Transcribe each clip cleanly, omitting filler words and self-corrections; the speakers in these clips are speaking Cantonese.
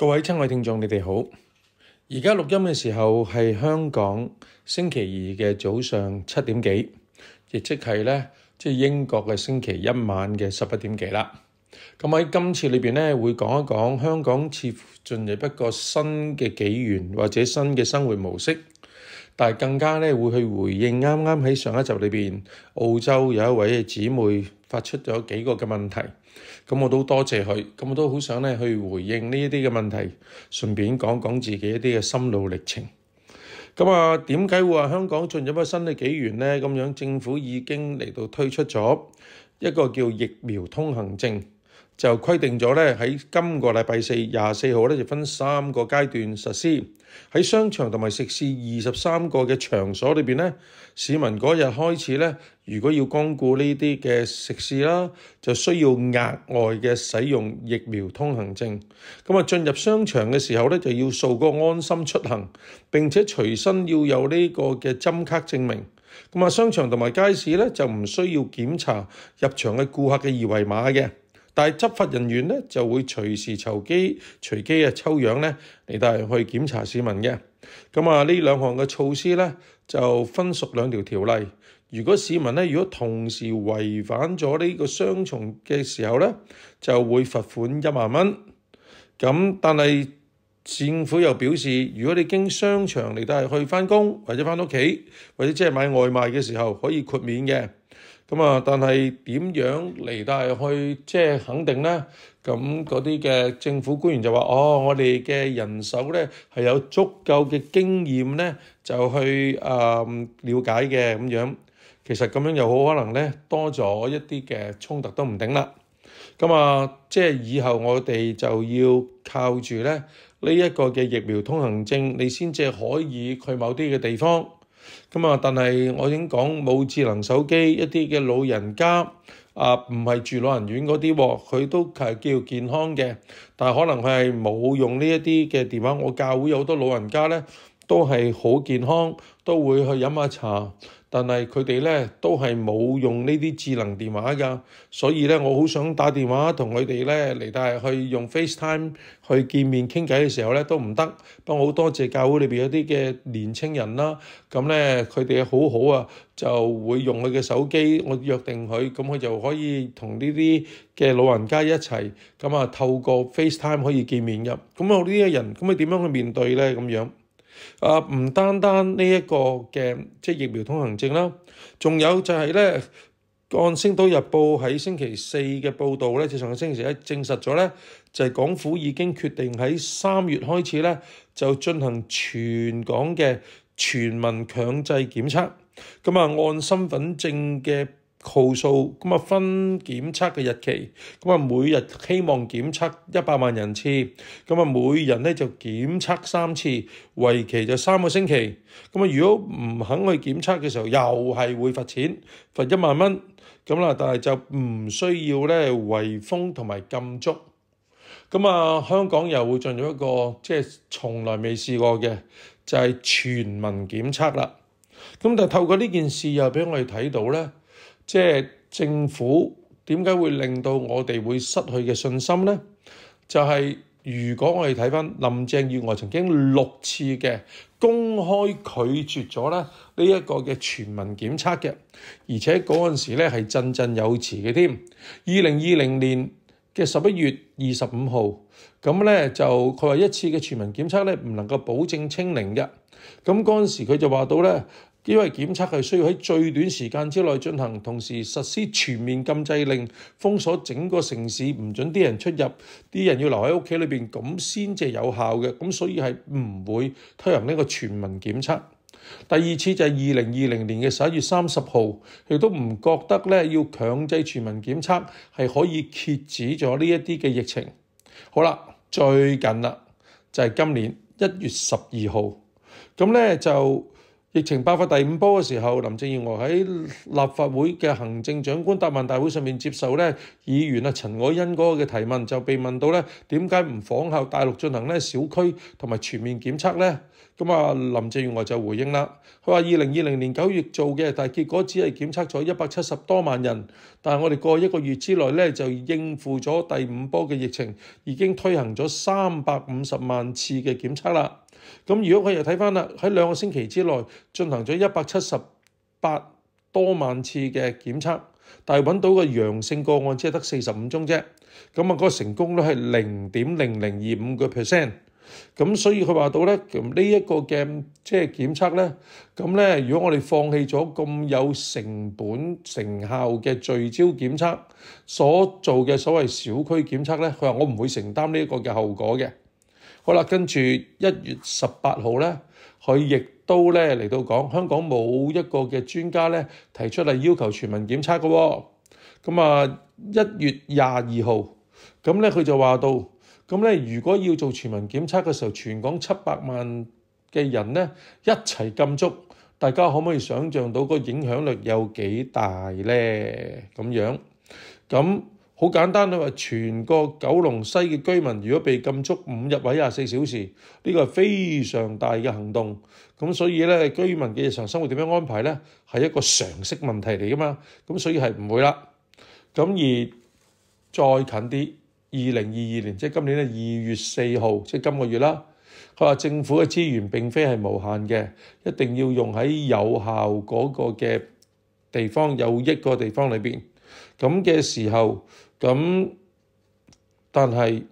各位親愛聽眾，你哋好。而家錄音嘅時候係香港星期二嘅早上7點幾，亦即係英國嘅星期一晚嘅11點幾啦。咁喺今次裏邊咧，會講一講香港似乎進入一個新嘅紀元或者新嘅生活模式，但係更加會去回應啱啱喺上一集裏邊澳洲有一位姊妹發出咗幾個嘅問題。咁我都多謝佢，咁我都好想去回應呢一啲嘅問題，順便講講自己一啲嘅心路歷程。咁點解會話香港進入一個新嘅紀元呢？咁樣政府已經嚟到推出咗一個叫疫苗通行證，就規定咗喺今個禮拜四24號就分3個階段實施。喺商場同埋食肆23個嘅場所裏邊市民嗰日開始如果要光顧呢啲嘅食肆啦，就需要額外嘅使用疫苗通行證。咁進入商場嘅時候就要掃個安心出行，並且隨身要有呢個嘅針卡證明。咁商場同埋街市就唔需要檢查入場嘅顧客嘅二維碼嘅。但係執法人員就會隨時隨機抽樣嚟到去檢查市民嘅。咁呢兩項嘅措施就分屬兩條條例。如果市民如果同時違反咗呢個雙重嘅時候就會罰款1萬蚊。咁但係政府又表示，如果你經商場嚟到去返工或者返屋企或者即係買外賣嘅時候可以豁免嘅。但係點樣嚟到去肯定呢？咁嗰啲嘅政府官員就話：我哋嘅人手係有足夠嘅經驗就去了解嘅咁樣。其實咁樣又好可能多咗一啲嘅衝突都唔定啦。以後我哋就要靠住呢一個嘅疫苗通行證，你先至可以去某啲嘅地方。但係我已經講冇智能手機，一啲嘅老人家唔係住老人院嗰啲，佢都係叫健康嘅，但係可能佢係冇用呢一啲嘅電話。我教會有好多老人家都係好健康，都會去飲下茶，但係佢哋都係冇用呢啲智能電話㗎，所以我好想打電話同佢哋嚟到去用 FaceTime 去見面傾偈嘅時候都唔得。不過好多謝教會裏邊有啲嘅年青人啦，咁佢哋好好啊，就會用佢嘅手機，我約定佢，咁佢就可以同呢啲嘅老人家一齊，透過 FaceTime 可以見面㗎。咁我呢啲人，咁你點樣去面對呢？咁樣？唔單單呢一個嘅疫苗通行證啦，仲有就係按《星島日報》喺星期四嘅報導就上個星期一證實咗就係港府已經決定喺3月開始就進行全港嘅全民強制檢測。按身份證嘅號數分檢測嘅日期，每日希望檢測100萬人次，每人就檢測3次，為期就3個星期。如果唔肯去檢測嘅時候，又係會罰錢，罰1萬蚊。但係就唔需要圍封同埋禁足。香港又會進入一個從來未試過嘅，就係全民檢測啦。但係透過呢件事又俾我哋睇到政府點解會令到我哋會失去嘅信心呢？就係如果我哋睇翻林鄭月娥曾經6次嘅公開拒絕咗呢一個嘅全民檢測嘅，而且嗰陣時係振振有詞嘅添。2020年嘅11月25號，就佢話一次嘅全民檢測唔能夠保證清零嘅。嗰陣時佢就話到因為檢測係需要喺最短時間之內進行，同時實施全面禁制令，封鎖整個城市，唔准啲人出入，啲人要留喺屋企裏邊，咁先至有效嘅。咁所以係唔會推行呢個全民檢測。第二次就係2020年嘅11月30號，亦都唔覺得要強制全民檢測係可以遏止咗呢一啲嘅疫情。好啦，最近啦就係今年1月12號，就疫情爆發第五波嘅時候，林鄭月娥喺立法會嘅行政長官答問大會上面接受咧議員陳凱欣嗰個嘅提問，就被問到咧點解唔仿效大陸進行咧小區同埋全面檢測咧？咁啊，林鄭月娥就回應啦，佢話2020年9月做嘅，但係結果只係檢測咗170多萬人，但係我哋過1個月之內咧就應付咗第五波嘅疫情，已經推行咗350萬次嘅檢測啦。咁如果佢又睇翻啦，喺2個星期之內進行咗178多萬次嘅檢測，但係揾到個陽性個案只係得45宗啫。咁啊，嗰個成功率係0.0025%。咁所以佢話到咧，呢一個嘅即係檢測咧，咁咧如果我哋放棄咗咁有成本成效嘅聚焦檢測所做嘅所謂小區檢測咧，佢話我唔會承擔呢一個嘅後果嘅。好啦，跟住1月18號咧，佢亦都咧嚟到講，香港冇一個嘅專家咧提出嚟要求全民檢測嘅喎。咁啊1月22號，咁咧佢就話到。咁咧，如果要做全民檢測嘅時候，全港700萬嘅人咧一齊禁足，大家可唔可以想像到個影響力有幾大咧？咁樣，咁好簡單，佢話全個九龍西嘅居民如果被禁足5日或者24小時，呢個係非常大嘅行動。咁所以咧，居民嘅日常生活點樣安排咧，係一個常識問題嚟噶嘛。咁所以係唔會啦。咁而再近啲。2022年即係今年嘅2月4號，即係今個月啦。佢話政府嘅資源並非係無限嘅，一定要用喺有效嗰個嘅地方、有益個地方裏邊。咁嘅時候，但係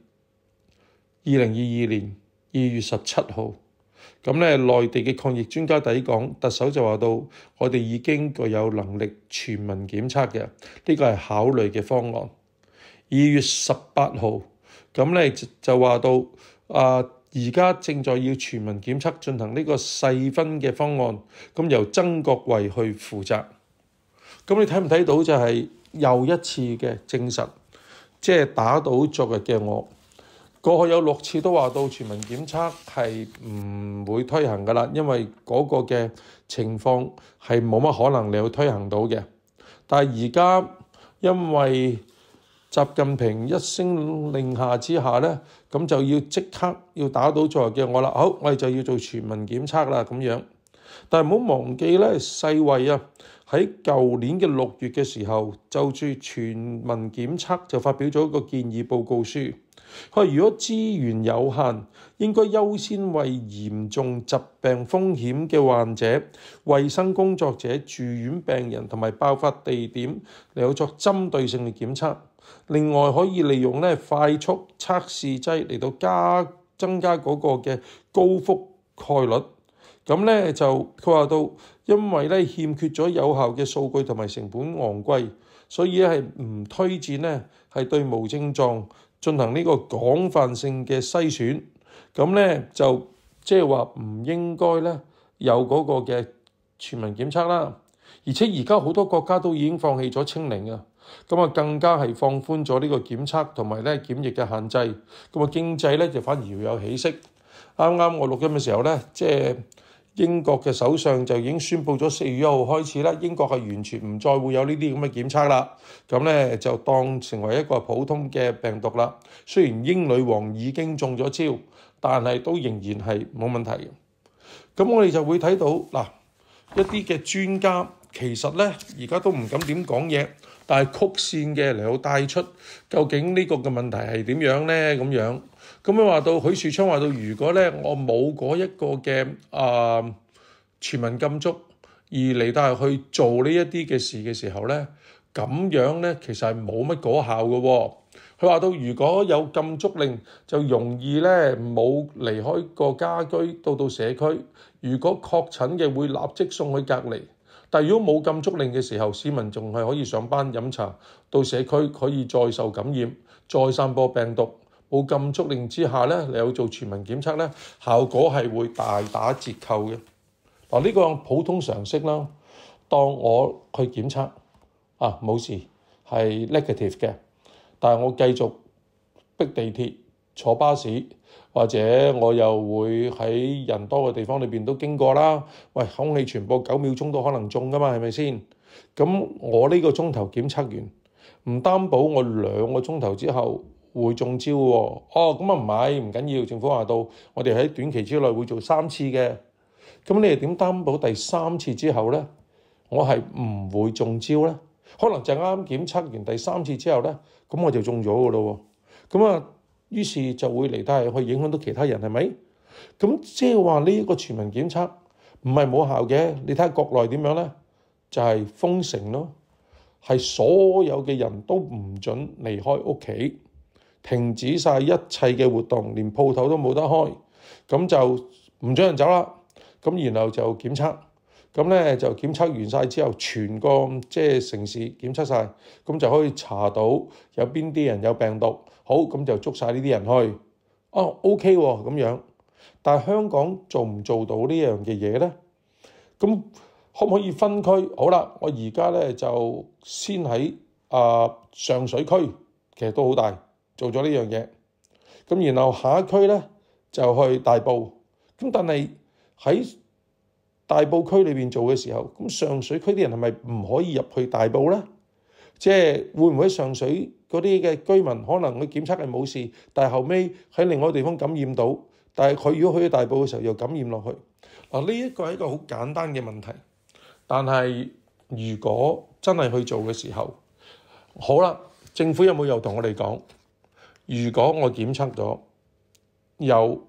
2022年2月17號，咁咧內地嘅抗疫專家抵港，特首就話到，我哋已經具有能力全民檢測嘅，呢個係考慮嘅方案。2月18號，咁咧就話到而家正在要全民檢測進行呢個細分嘅方案，咁由曾國衛去負責。咁你睇唔睇到就係又一次嘅證實，即係打倒昨日嘅我。過去有6次都話到全民檢測係唔會推行噶啦，因為嗰個嘅情況係冇乜可能你去推行到嘅。但係而家因為習近平一聲令下之下咧，咁就要即刻要打倒昨日嘅我啦。好，我哋就要做全民檢測啦咁樣。但係唔好忘記咧，世衛喺舊年嘅6月嘅時候，就住全民檢測就發表咗一個建議報告書。佢話如果資源有限，應該優先為嚴重疾病風險嘅患者、衛生工作者、住院病人同埋爆發地點嚟作針對性嘅檢測。另外可以利用快速測試劑嚟到增加嗰個嘅高覆蓋率。咁咧就佢話到，因為咧欠缺咗有效嘅數據同埋成本昂貴，所以係唔推薦咧係對無症狀進行呢個廣泛性嘅篩選。咁咧就即係話唔應該咧有嗰個嘅全民檢測啦。而且而家好多國家都已經放棄咗清零啊，咁啊更加係放寬咗呢個檢測同埋咧檢疫嘅限制。咁啊經濟咧就反而要有起色。啱啱我錄音嘅時候咧，即係英國嘅首相就已經宣布咗4月1號開始啦，英國係完全唔再會有呢啲咁嘅檢測啦。咁咧就當成為一個普通嘅病毒啦。雖然英女王已經中咗招，但係都仍然係冇問題嘅。咁我哋就會睇到嗱，一啲嘅專家其實咧而家都唔敢點講嘢，但係曲線嘅嚟到帶出究竟呢個嘅問題係點樣咧咁樣。咁樣話到許樹昌話到，如果咧我冇嗰一個嘅全民禁足而嚟到去做呢一啲嘅事嘅時候咧，咁樣咧其實係冇乜果效嘅喎。佢話到如果有禁足令，就容易咧冇離開個家居到社區。如果確診嘅會立即送去隔離。但如果冇禁足令嘅時候，市民仲係可以上班飲茶，到社區可以再受感染，再散播病毒。冇禁足令之下咧，你有做全民檢測咧，效果係會大打折扣嘅。嗱，呢個普通常識啦。當我去檢測冇事係 negative 嘅，但係我繼續逼地鐵坐巴士，或者我又會喺人多嘅地方裏邊都經過啦。喂，空氣傳播9秒鐘都可能中㗎嘛，係咪先？咁我呢個鐘頭檢測完，唔擔保我2個鐘頭之後會中招喎。哦，咁啊唔緊要，政府話到我哋喺短期之內會做3次嘅。咁你又點擔保第3次之後呢，我係唔會中招呢？可能就啱啱檢測完第3次之後呢，咁我就中咗㗎咯喎。咁啊，於是就會嚟得去影響到其他人，係咪？咁即係話呢一個全民檢測唔係冇效嘅。你睇下國內點樣呢？就係封城咯，係所有嘅人都唔準離開屋企，停止晒一切嘅活動，連鋪頭都冇得開，咁就唔準人走啦。咁然後就檢測，咁咧就檢測完晒之後，全個城市檢測晒，咁就可以查到有邊啲人有病毒。好，咁就捉晒呢啲人去。哦，OK 喎，咁樣。但係香港做唔做到呢樣嘅嘢呢？咁可唔可以分區？好啦，我而家咧就先喺上水區，其實都好大，做咗呢樣嘢。咁然後下一區咧就去大埔。咁但係喺大埔區裏邊做嘅時候，咁上水區啲人係咪唔可以入去大埔咧？即係會唔會喺上水嗰啲嘅居民可能佢檢測係冇事，但係後尾喺另外一個地方感染到，但係佢如果去大埔嘅時候又感染落去。嗱，呢一個係一個好簡單嘅問題。但係如果真係去做嘅時候，好啦，政府有冇又同我哋講，如果我檢測咗有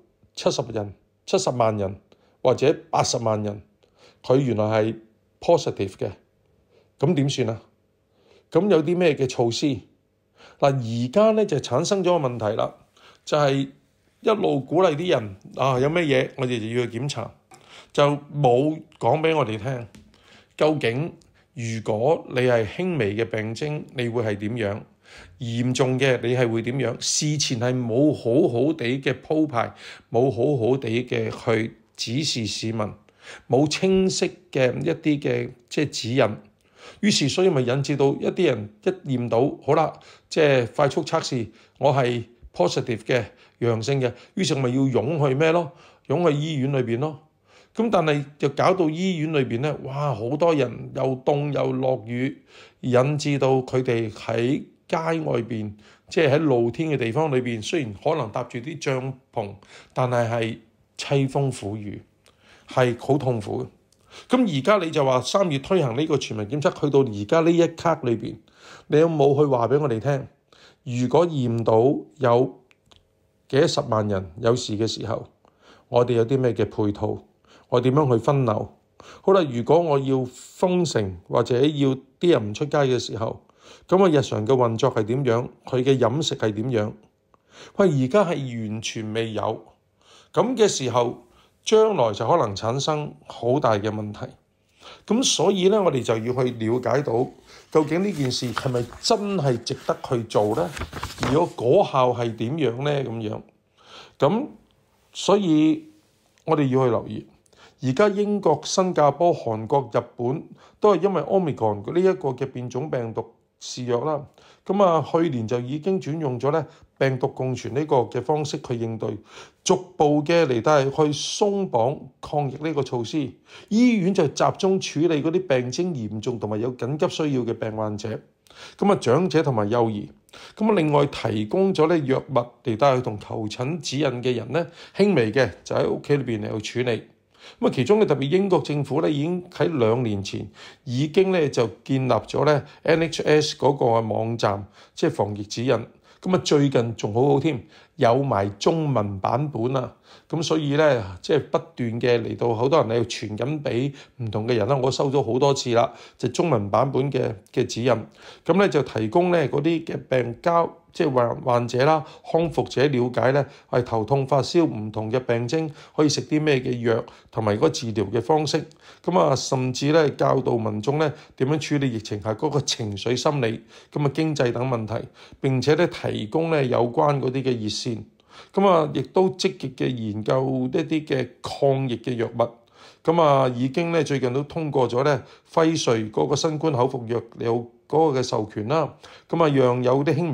70萬人或者80萬人，佢原來係 positive 嘅，咁點算啊？咁有啲咩嘅措施？嗱，而家咧就產生咗個問題啦，就係一路鼓勵啲人有咩嘢我哋就要去檢查，就冇講俾我哋聽。究竟如果你係輕微嘅病徵，你會係點樣？嚴重嘅你係會點樣？事前係冇好好地嘅鋪排，冇好好地嘅去指示市民，冇清晰嘅一啲嘅指引。於是所以咪引致到一啲人一驗到，好啦，快速測試，我係 positive 嘅陽性嘅，於是咪要湧去咩咯？湧去醫院裏邊咯。咁但係就搞到醫院裏邊咧，哇！好多人又凍又落雨，引致到佢哋喺街外邊，喺露天嘅地方裏邊，雖然可能搭住啲帳篷，但係淒風苦雨，係好痛苦嘅。咁而家你就話3月推行呢個全民檢測，去到而家呢一刻裏邊，你有冇去話俾我哋聽？如果驗到有幾10萬人有事嘅時候，我哋有啲咩嘅配套？我點樣去分流？好啦，如果我要封城或者要啲人唔出街嘅時候，咁我日常嘅運作係點樣？佢嘅飲食係點樣？喂，而家係完全未有咁嘅時候，將來就可能產生好大嘅問題。咁所以咧，我哋就要去了解到究竟呢件事係咪真係值得去做咧？如果果效係點樣咧？咁所以我哋要去留意。而家英國、新加坡、韓國、日本都係因為 Omicron 呢一個嘅變種病毒肆虐啦。去年就已經轉用咗咧病毒共存呢個嘅方式去應對，逐步嘅嚟到係去鬆綁抗疫呢個措施。醫院就集中處理嗰啲病徵嚴重同埋有緊急需要嘅病患者。長者同埋幼兒。另外提供咗咧藥物嚟到去同求診指引嘅人咧，輕微嘅就喺屋企裏邊嚟去處理。其中咧特別英國政府咧已經喺2年前已經咧就建立咗咧 NHS 嗰個網站，防疫指引。最近仲好添，有埋中文版本啊！所以咧不斷嘅嚟到好多人嚟傳緊俾唔同嘅人啦。我收咗好多次啦，中文版本嘅指引。就提供咧嗰啲嘅病交。患者啦、康復者了解咧，係頭痛發燒唔同嘅病徵，可以食啲咩嘅藥，同埋嗰個治療嘅方式。甚至咧教導民眾咧點樣處理疫情下嗰個情緒心理、經濟等問題，並且咧提供咧有關嗰啲嘅熱線。亦都積極嘅研究一啲嘅抗疫嘅藥物。已經咧最近都通過咗咧輝瑞嗰個新冠口服藥有嗰個嘅授權啦。讓有啲輕微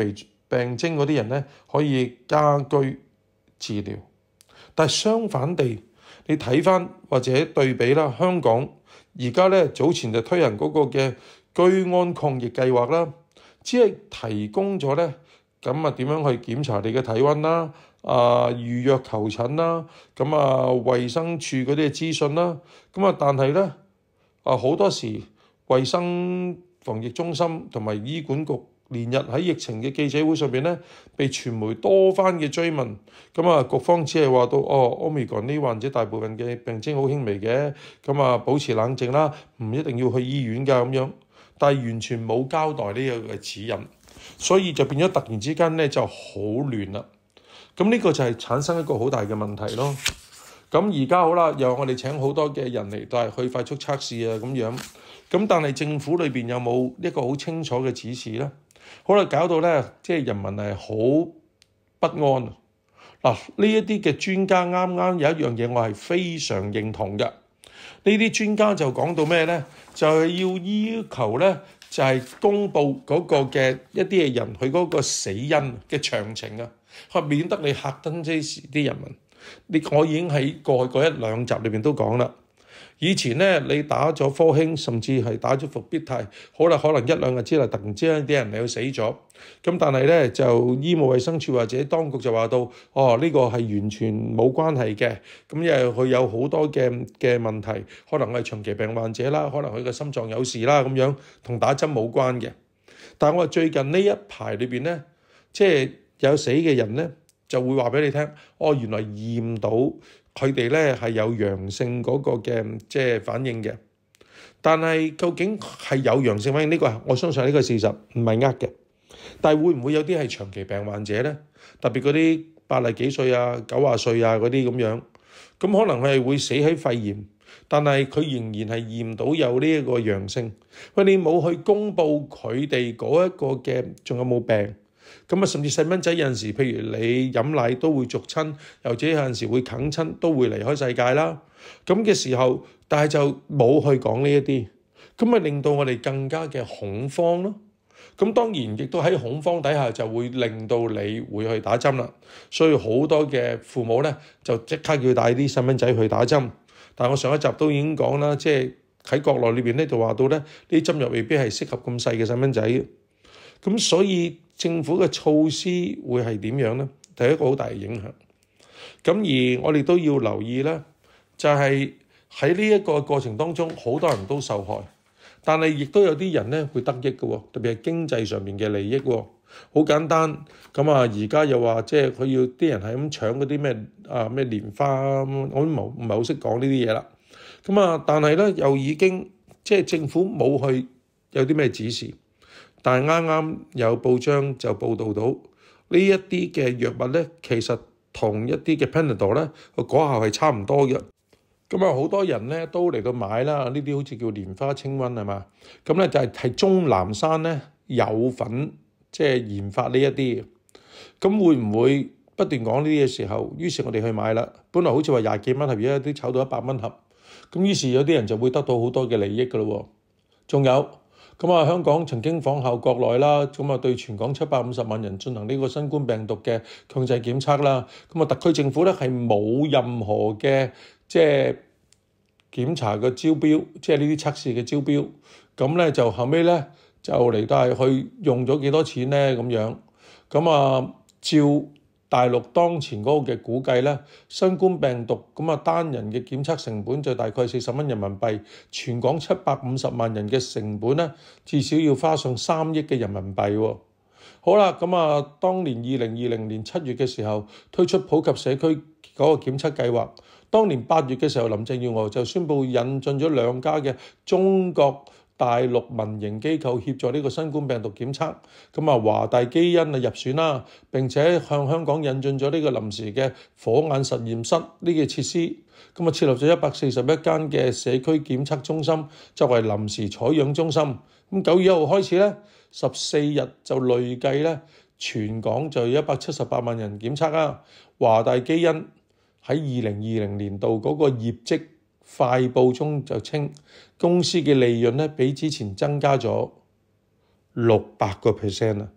病徵嗰啲人咧可以家居治療。但係相反地，你睇翻或者對比啦，香港而家咧早前就推行嗰個嘅居安抗疫計劃啦，只係提供咗咧咁點樣去檢查你嘅體温啦，預約求診啦，衛生署嗰啲嘅資訊啦，但係咧好多時衛生防疫中心同埋醫管局連日喺疫情嘅記者會上邊咧，被傳媒多番嘅追問，局方只係話到Omicron 呢患者大部分嘅病徵好輕微嘅，保持冷靜啦，唔一定要去醫院㗎咁樣，但係完全冇交代呢個嘅指引，所以就變咗突然之間咧就好亂啦。呢個就係產生一個好大嘅問題咯。而家好啦，又我哋請好多嘅人嚟都係去快速測試啊咁樣，但係政府裏邊有冇一個好清楚嘅指示咧？好啦，搞到咧即係人民係好不安。呢一啲嘅專家啱啱有一樣嘢我係非常認同嘅。呢啲專家就講到咩咧？就係要求咧就係公佈嗰個嘅一啲嘅人佢嗰個死因嘅詳情啊，免得你嚇親啲人民。我已經喺過去嗰一兩集裏邊都講啦。以前咧，你打咗科興，甚至係打咗復必泰，好啦，可能一兩日之內突然之間啲人嚟死咗。但係咧就醫務衛生署或者當局就話到，呢個係完全冇關係嘅。因為佢有好多嘅問題，可能係長期病患者啦，可能佢嘅心臟有事啦咁樣，同打針冇關嘅。但係我話最近呢一排裏邊咧，即係有死嘅人咧，就會話俾你聽，原來驗到佢哋咧係有陽性嗰個嘅即係反應嘅。但係究竟係有陽性反應呢個，我相信呢個事實唔係嘅。但係會唔會有啲係長期病患者咧？特別嗰啲80幾歲啊、90歲啊嗰啲咁樣，可能係會死喺肺炎，但係佢仍然係驗到有呢一個陽性。你冇去公佈佢哋嗰一個嘅仲有冇病？甚至細蚊仔有陣時，譬如你飲奶都會逐親，又或者有陣時會啃親，都會離開世界啦。咁嘅時候，但係就冇去講呢一啲，咪令到我哋更加嘅恐慌咯。當然亦都喺恐慌底下，就會令到你會去打針啦。所以好多嘅父母咧，就即刻要帶啲細蚊仔去打針。但係我上一集都已經講啦，即係喺國內裏邊咧就話到咧，呢啲針又未必係適合咁細嘅細蚊仔。所以政府嘅措施會係點樣呢？係一個好大嘅影響。而我哋都要留意咧，就係喺呢一個過程當中，好多人都受害，但係亦都有啲人咧會得益嘅，特別係經濟上面嘅利益。好簡單，而家又話即係佢要啲人係咁搶嗰啲咩蓮花，我都唔係好識講呢啲嘢啦。但係咧又已經即係政府冇去有啲咩指示。但係啱啱有報章就報導到呢一啲嘅藥物咧，其實同一啲嘅 Panadol 咧個果效係差唔多嘅。好多人咧都嚟到買啦，呢啲好似叫蓮花清瘟係嘛？就係鍾南山咧有份即係研發呢一啲。會唔會不斷講呢啲嘅時候，於是我哋去買啦。本來好似話20幾蚊盒，而家都炒到100蚊盒。於是有啲人就會得到好多嘅利益㗎咯。仲有。香港曾經仿效國內啦，對全港750萬人進行呢個新冠病毒嘅強制檢測啦。特區政府咧係冇任何嘅即係檢查嘅招標，即係呢啲測試嘅招標。就後尾咧就嚟到係去用咗幾多錢咧咁樣。照大陸當前嗰個嘅估計咧，新冠病毒單人嘅檢測成本就大概40蚊人民幣，全港750萬人嘅成本咧，至少要花上3億嘅人民幣。好啦，當年2020年7月嘅時候推出普及社區嗰個檢測計劃，當年8月嘅時候林鄭月娥就宣布引進咗2家嘅中國大陸民營機構協助呢個新冠病毒檢測，華大基因入選啦，並且向香港引進咗呢個臨時嘅火眼實驗室呢個設施，設立咗141間嘅社區檢測中心作為臨時採樣中心。9月1號開始咧，14日就累計咧，全港就有178萬人檢測啊。華大基因喺2020年度嗰個業績快報中就稱，公司嘅利潤咧比之前增加咗600%啊！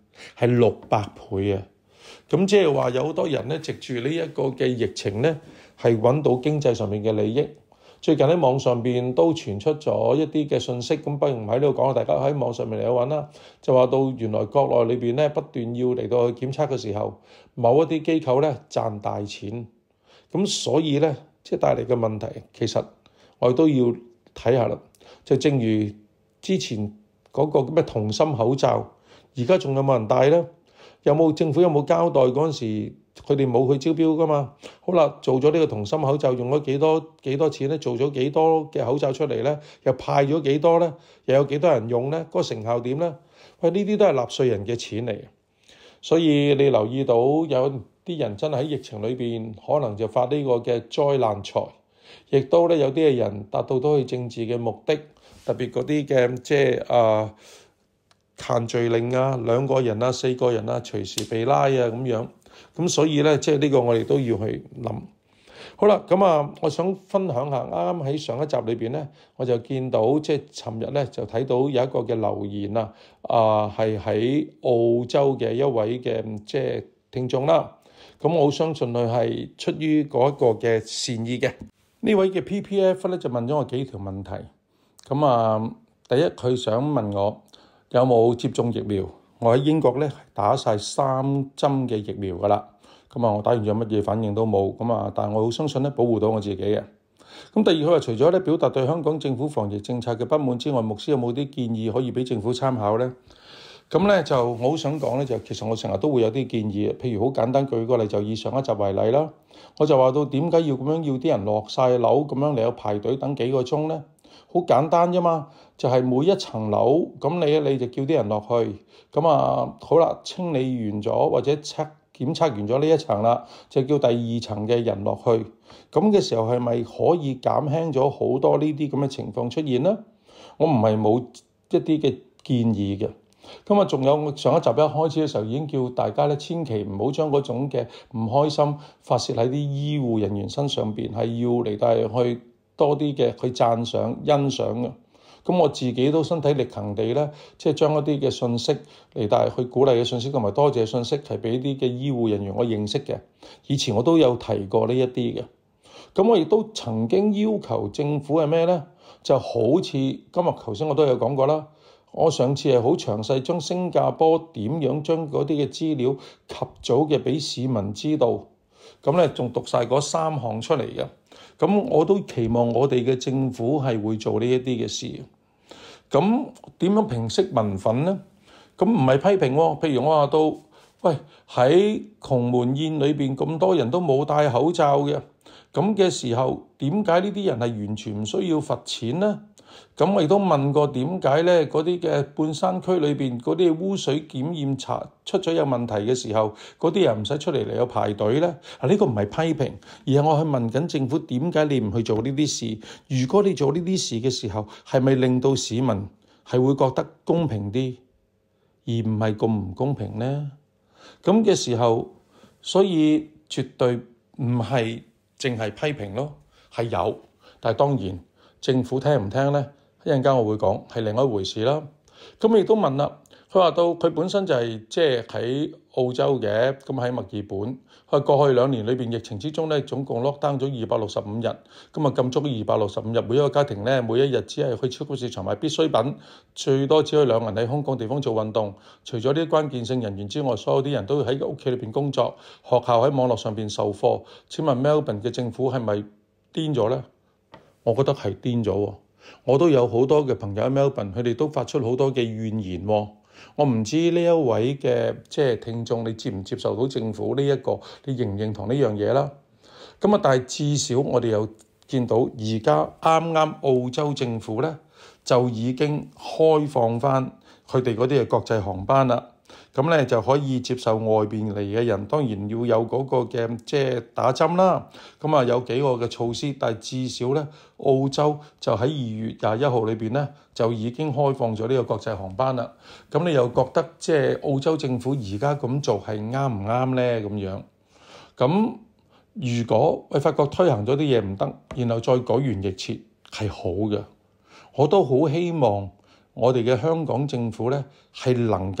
係600倍啊！咁即係話有好多人咧，藉住呢一個嘅疫情咧，係揾到經濟上面嘅利益。最近喺網上邊都傳出咗一啲嘅信息，咁不如唔喺呢度講啦，大家喺網上面嚟去揾啦。就話到原來國內裏邊咧不斷要嚟到去檢測嘅時候，某一啲機構咧賺大錢，咁所以咧即係帶嚟嘅問題，其實我哋都要睇下啦。就正如之前嗰個咩銅芯口罩，而家仲有冇人戴咧？政府有冇交代嗰陣時？佢哋冇去招標噶嘛？好啦，做咗呢個銅芯口罩，用咗幾多錢咧？做咗幾多嘅口罩出嚟咧？又派咗幾多咧？又有幾多人用咧？嗰個成效點咧？喂，呢啲都係納稅人嘅錢嚟，所以你留意到有啲人真係喺疫情裏邊，可能就發呢個嘅災難財，亦都咧有啲嘅人達到都係政治嘅目的，特別嗰啲嘅即係限聚令啊，2個人啊、4個人啊，隨時被拉啊咁樣。咁所以咧，即係呢個我哋都要去諗。好啦，咁我想分享下，啱啱喺上一集裏邊咧，我就見到即係尋日咧就睇到有一個嘅留言啊，係喺澳洲嘅一位嘅即係聽眾啦。咁我好相信佢係出於嗰一個嘅善意嘅。呢位嘅 PPF 咧就問咗我幾條問題。咁第一佢想問我有冇接種疫苗。我喺英國咧打晒3針嘅疫苗噶啦，我打完咗乜嘢反應都冇，但係我好相信咧保護到我自己嘅。咁第二佢話除咗咧表達對香港政府防疫政策嘅不滿之外，牧師有冇啲建議可以俾政府參考咧？咁咧就我好想講咧，就其實我成日都會有啲建議，譬如好簡單舉個例，就以上一集為例啦，我就話到點解要咁樣要啲人落晒樓咁樣嚟去排隊等幾個鐘咧？好簡單啫嘛，就係每一層樓咁你就叫啲人落去，好啦，清理完咗或者檢測完咗呢一層啦，就叫第2層嘅人落去。咁嘅時候係咪可以減輕咗好多呢啲咁嘅情況出現呢？我唔係冇一啲嘅建議嘅。仲有上一集一開始嘅時候已經叫大家咧，千祈唔好將嗰種嘅唔開心發泄喺啲醫護人員身上邊，係要嚟帶去多啲嘅去讚賞欣賞嘅。咁我自己都身體力行地咧，即係將一啲嘅信息嚟帶去鼓勵嘅信息同埋多謝信息係俾啲嘅醫護人員我認識嘅。以前我都有提過呢一啲嘅。咁我亦都曾經要求政府係咩咧？就好似今日頭先我都有講過啦。我上次係好詳細將新加坡點樣將嗰啲嘅資料及早嘅俾市民知道。咁咧仲讀晒嗰3項出嚟嘅。咁我都期望我哋嘅政府係會做呢一啲嘅事。咁點樣平息民憤呢？咁唔係批評喎。譬如我話到，喂，喺鴻門宴裏邊咁多人都冇戴口罩嘅，咁嘅時候點解呢啲人係完全唔需要罰錢呢？咁我亦都問過點解咧？嗰啲嘅半山區裏邊嗰啲污水檢驗查出咗有問題嘅時候，嗰啲人唔使出嚟去排隊咧？呢個唔係批評，而係我去問緊政府點解你唔去做呢啲事？如果你做呢啲事嘅時候，係咪令到市民係會覺得公平啲，而唔係咁唔公平呢？咁嘅時候，所以絕對唔係淨係批評咯，係有，但係當然。政府聽唔聽呢？一陣間我會講係另外一回事啦。咁亦都問啦，佢話到佢本身就係即係喺澳洲嘅，咁喺墨爾本。佢過去2年裏邊疫情之中咧，總共 lock down 咗265日，咁禁足265日，每一個家庭咧，每一日只係去超級市場買必需品，最多只可以2人喺空曠地方做運動。除咗啲關鍵性人員之外，所有啲人都喺屋企裏邊工作，學校喺網絡上邊授課。請問 Melbourne 嘅政府係咪癲咗呢？我覺得係癲咗喎，我都有好多嘅朋友喺 Melbourne，佢哋都發出好多嘅怨言喎。我唔知呢一位嘅即係聽眾，你接唔接受到政府呢一個？你認唔認同呢樣嘢啦？但係至少我哋有見到而家啱啱澳洲政府咧就已經開放翻佢哋嗰啲嘅國際航班啦。咁咧就可以接受外邊嚟嘅人，當然要有嗰個嘅即係打針啦。有幾個嘅措施，但係至少咧澳洲就喺2月21號裏邊咧就已經開放咗呢個國際航班啦。咁你又覺得即係澳洲政府而家咁做係啱唔啱咧？咁樣咁如果我發覺推行咗啲嘢唔得，然後再改弦易轍係好嘅。我都好希望我哋嘅香港政府咧係能夠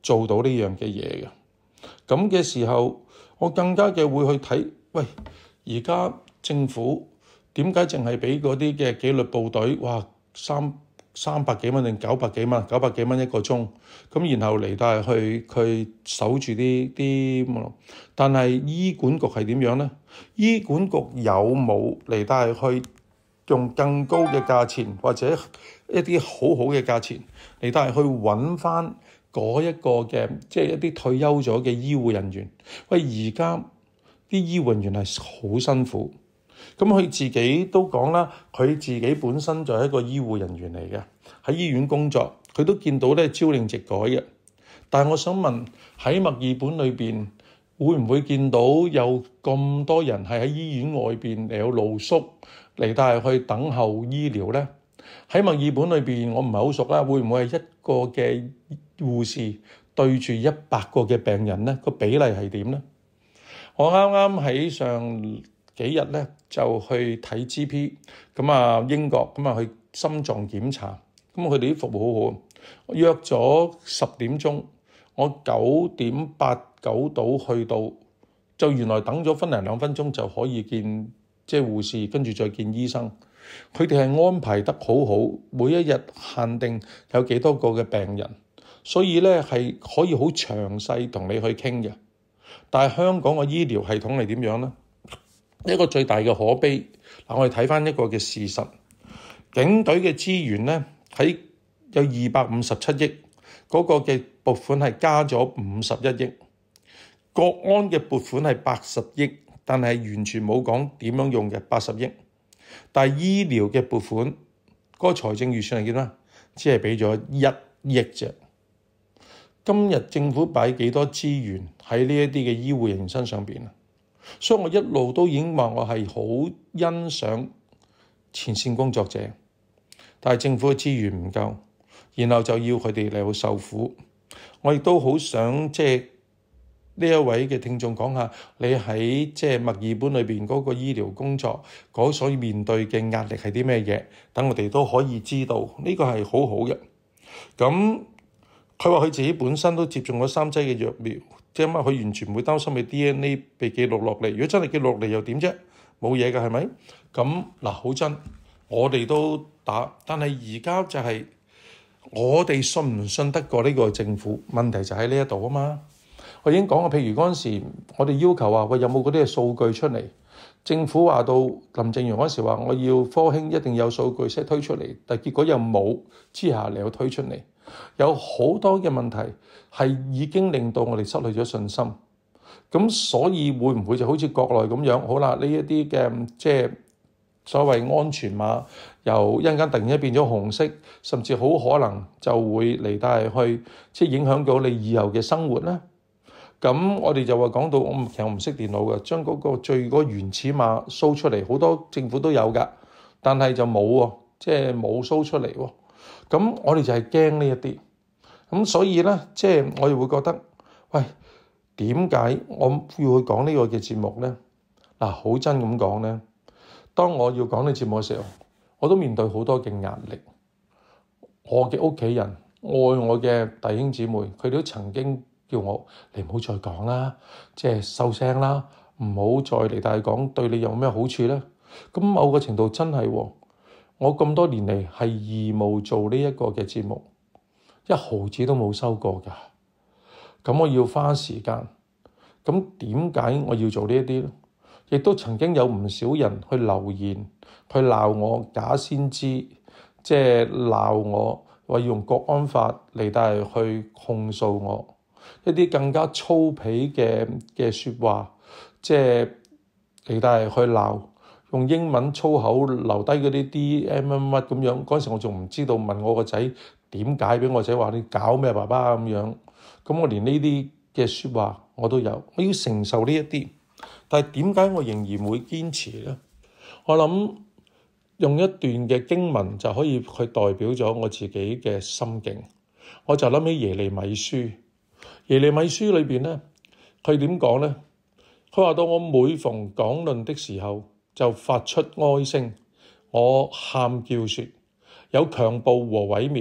做到呢樣嘅嘢嘅。咁嘅時候，我更加嘅會去睇，喂，而家政府點解淨係俾嗰啲嘅紀律部隊，哇，三百幾蚊定900幾蚊，900幾蚊一個鐘，咁然後嚟到係去守住啲，但係醫管局係點樣呢？醫管局有冇嚟到係去用更高嘅價錢或者一啲好好嘅價錢嚟到係去揾翻嗰一個嘅，即係一啲退休咗嘅醫護人員？喂，而家啲醫護人員係好辛苦。咁佢自己都講啦，佢自己本身就係一個醫護人員嚟嘅，喺醫院工作，佢都見到咧朝令夕改嘅。但係我想問，喺墨爾本裏邊，會唔會見到有咁多人係喺醫院外邊嚟有露宿嚟，但係去等候醫療呢？喺墨爾本裏邊，我唔係好熟啦，會唔會係一個嘅護士對住100個嘅病人呢？個比例係點呢？我啱啱喺上幾日咧就去睇 GP， 咁啊英國咁啊去心臟檢查，咁佢哋啲服務好好。我約咗10點鐘，我9點8、9到去到，就原來等咗分零2分鐘就可以見即係護士，跟住再見醫生。佢哋係安排得好好，每一日限定有幾多個嘅病人，所以咧係可以好詳細同你去傾嘅。但係香港嘅醫療系統係點樣呢？一個最大嘅可悲，我哋睇翻一個嘅事實，警隊嘅資源呢，喺有257億，嗰個嘅撥款係加咗51億，國安嘅撥款係80億，但係完全冇講點樣用嘅80億，但係醫療嘅撥款嗰個財政預算係幾多？只係俾咗1億啫。今日政府擺幾多資源喺呢一啲嘅醫護人員身上邊啊？所以我一路都已經話我係好欣賞前線工作者，但係政府嘅資源唔夠，然後就要佢哋嚟去受苦。我亦都好想即係呢一位嘅聽眾講下，你喺即係墨爾本裏邊嗰個醫療工作嗰所面對嘅壓力係啲咩嘢？等我哋都可以知道，呢個係好好嘅。咁佢話佢自己本身都接種咗3劑嘅藥苗。即係佢完全唔會擔心你 DNA 被記錄落嚟。如果真係記錄落嚟又點啫？冇嘢㗎，係咪？咁嗱，好真，我哋都打，但係而家就係我哋信唔信得過呢個政府？問題就喺呢一度啊嘛。我已經講過，譬如嗰陣時，我哋要求話喂，有冇嗰啲嘅數據出嚟？政府話到林鄭月娥嗰時話我要科興一定有數據先推出嚟，但結果又冇之下嚟又推出嚟。有好多嘅問題係已經令到我哋失去咗信心，咁所以會唔會就好似國內咁樣？好啦，呢一啲嘅即係所謂安全碼，由一陣間突然間變咗紅色，甚至好可能就會嚟帶去即係影響到你以後嘅生活咧。咁我哋就話講到，其實我唔識電腦嘅，將嗰個最嗰原始碼 show 出嚟，好多政府都有㗎，但係就冇喎，即係冇 show 出嚟喎。咁我哋就係驚呢一啲，咁所以咧，即係我哋會覺得，喂，點解我要去講呢個嘅節目咧？嗱，好真咁講咧，當我要講呢個節目嘅時候，我都面對好多嘅壓力。我嘅屋企人、愛我嘅弟兄姊妹，佢哋都曾經叫我，你唔好再講啦，即係收聲啦，唔好再嚟大講，對你有咩好處咧？咁某個程度真係喎。我咁多年嚟係義務做呢一個嘅節目，1毫子都冇收過㗎。咁我要花時間。咁點解我要做呢一啲咧？亦都曾經有唔少人去留言，去鬧我假先知，即係鬧我話要用國安法嚟帶去控訴我，一啲更加粗鄙嘅説話，即係嚟帶去鬧。用英文粗口留低嗰啲 DM 乜咁樣，嗰陣時我仲唔知道，問我個仔點解，俾我仔話你搞咩爸爸咁樣，咁我連呢啲嘅説話我都有，我要承受呢一啲，但係點解我仍然會堅持咧？我諗用一段嘅經文就可以去代表咗我自己嘅心境，我就諗起耶利米書，耶利米書裏邊咧，佢點講咧？佢話到我每逢講論的時候，就發出哀聲，我喊叫說，有強暴和毀滅，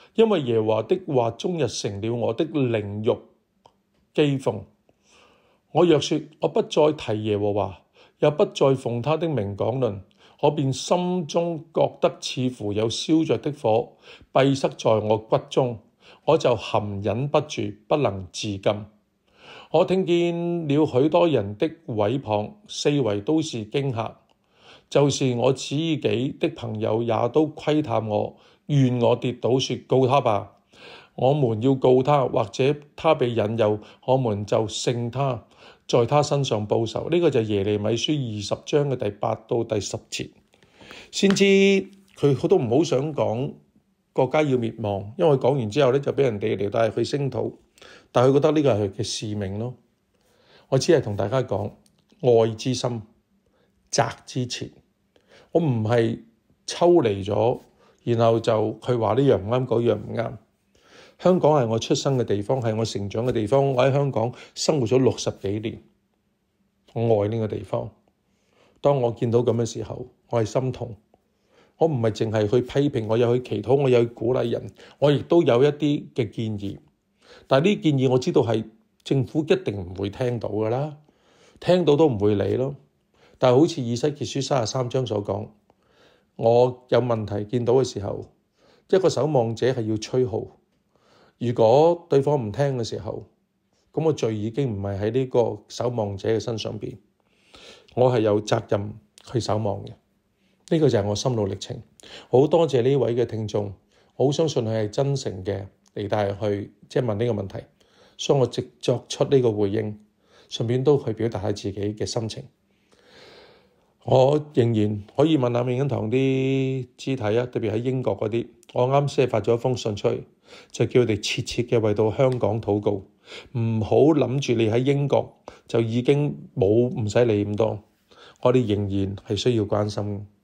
因為耶和華的話終日成了我的靈肉譏諷。我若說我不再提耶和華，又不再奉他的名講論，我便心中覺得似乎有燒着的火閉塞在我骨中，我就含忍不住，不能自禁。我聽見了許多人的毀謗，四圍都是驚嚇，就是我自己的朋友也都窺探我，願我跌倒，說告他吧，我們要告他，或者他被引誘，我們就勝他，在他身上報仇。呢個就係耶利米書20章嘅第8到第10節。先知佢都唔好想講國家要滅亡，因為講完之後呢，就俾人哋嚟帶去聲討，但係佢覺得呢個係佢嘅使命咯。我只係同大家講，愛之深，責之切。我唔係抽離咗，然後就佢話呢樣唔啱，嗰樣唔啱。香港係我出生嘅地方，係我成長嘅地方。我喺香港生活咗60幾年，我愛呢個地方。當我見到咁嘅時候，我係心痛。我唔係淨係去批評，我有去祈禱，我有去鼓勵人，我亦都有一啲嘅建議。但係呢啲建議我知道係政府一定唔會聽到㗎啦，聽到都唔會理咯。但係好似以西結書33章所講，我有問題見到嘅時候，一個守望者係要吹號。如果對方唔聽嘅時候，咁個罪已經唔係喺呢個守望者嘅身上邊，我係有責任去守望嘅。呢個就係我心路歷程。好多謝呢位嘅聽眾，我好相信佢係真誠嘅嚟帶去問呢個問題，所以我直作出呢個回應，順便都去表達下自己嘅心情。我仍然可以問下永恩堂啲肢體啊，特別喺英國嗰啲，我啱先係發咗一封信出去，就叫佢哋切切嘅為到香港禱告，唔好諗住你喺英國就已經冇唔使理咁多，我哋仍然係需要關心。